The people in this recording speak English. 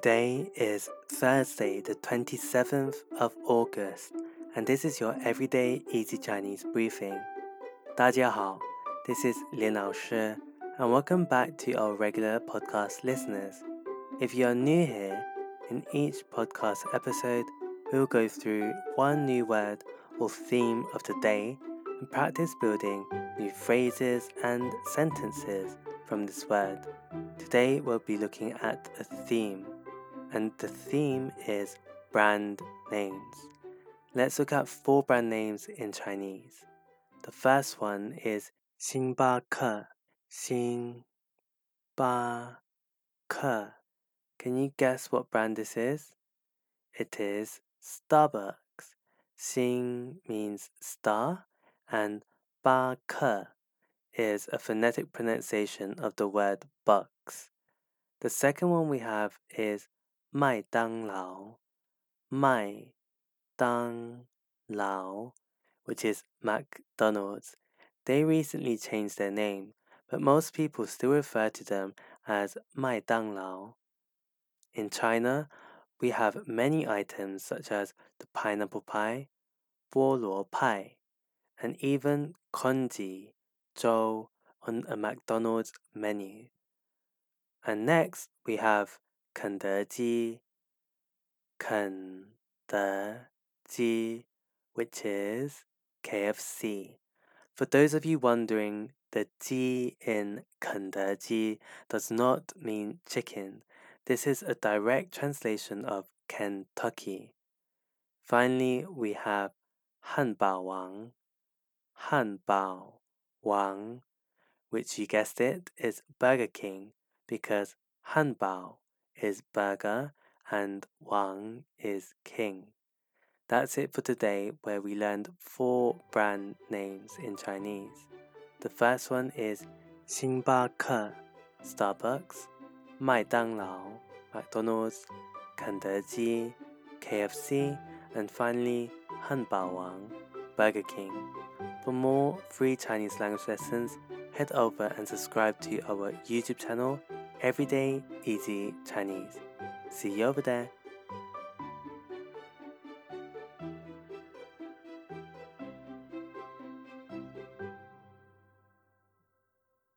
Today is Thursday, the 27th of August, and this is your Everyday Easy Chinese Briefing. 大家好, this is Lian 老师, and welcome back to our regular podcast listeners. If you are new here, in each podcast episode, we will go through one new word or theme of the day and practice building new phrases and sentences from this word. Today we'll be looking at a theme, and the theme is brand names. Let's look at 4 brand names in Chinese. The first one is 星巴克, 星巴克. Can you guess what brand this is? It is Starbucks. 星 means star, and 巴克 is a phonetic pronunciation of the word bucks. The second one we have is 麦当劳, 麦当劳, which is McDonald's. They recently changed their name, but most people still refer to them as 麦当劳. In China, we have many items such as the pineapple pie, 菠萝派, and even congee, 粥, on a McDonald's menu. And next, we have 肯德基, 肯德基, which is KFC. For those of you wondering, the 鸡 in 肯德基 does not mean chicken. This is a direct translation of Kentucky. Finally, we have 汉堡王, 汉堡王, which you guessed it, is Burger King, because 汉堡 is burger and Wang is king. That's it for today, where we learned 4 brand names in Chinese. The first one is 星巴克, Starbucks, 麦当劳, McDonald's, 肯德基, KFC, and finally 汉堡王, Burger King. For more free Chinese language lessons, head over and subscribe to our YouTube channel, Everyday Easy Chinese. See you over there.